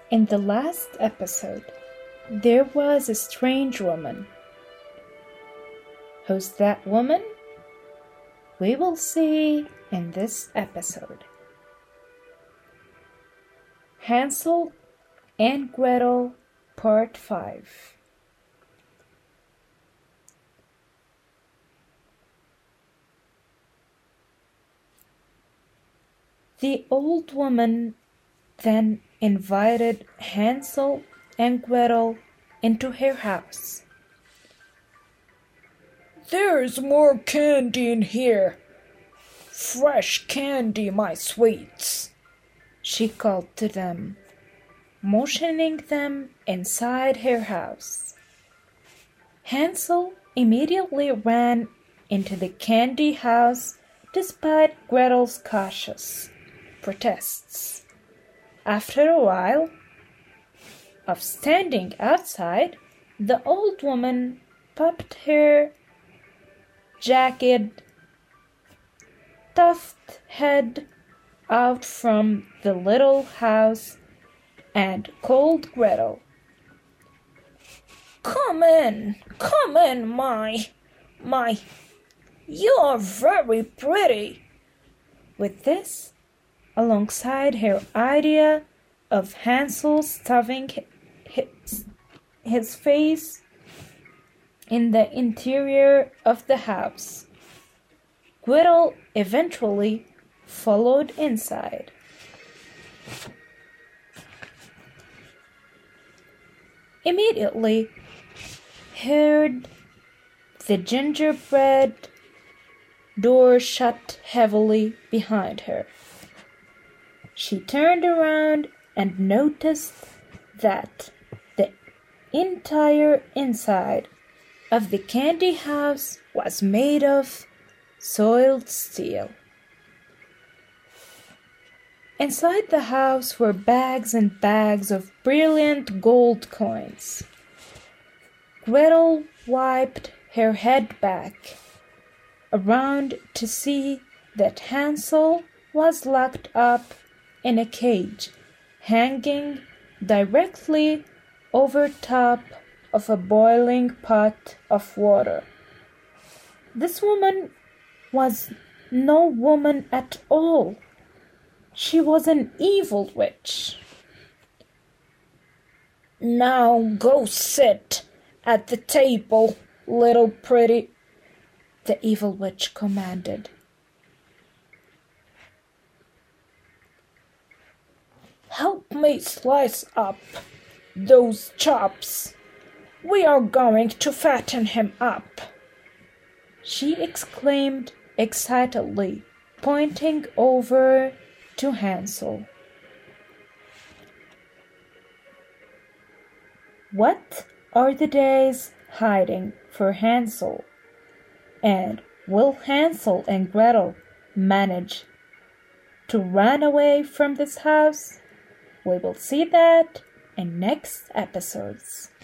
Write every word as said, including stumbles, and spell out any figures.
In the last episode, there was a strange woman. Who's that woman? We will see in this episode. Hansel and Gretel, Part five. The old woman then invited Hansel and Gretel into her house. "There's more candy in here. Fresh candy, my sweets," she called to them, motioning them inside her house. Hansel immediately ran into the candy house despite Gretel's cautious protests. After a while of standing outside, the old woman popped her jagged, tufted head out from the little house and called Gretel. "Come in, come in, my, my, you're very pretty." With this, alongside her idea of Hansel stuffing his, his face in the interior of the house, Gretel eventually followed inside. Immediately heard the gingerbread door shut heavily behind her. She turned around and noticed that the entire inside of the candy house was made of soiled steel. Inside the house were bags and bags of brilliant gold coins. Gretel wiped her head back around to see that Hansel was locked up in a cage hanging directly over top of a boiling pot of water. This woman was no woman at all. She was an evil witch. "Now go sit at the table, little pretty," the evil witch commanded. "Help me slice up those chops. We are going to fatten him up," she exclaimed excitedly, pointing over to Hansel. What are the days hiding for Hansel? And will Hansel and Gretel manage to run away from this house? We will see that in next episodes.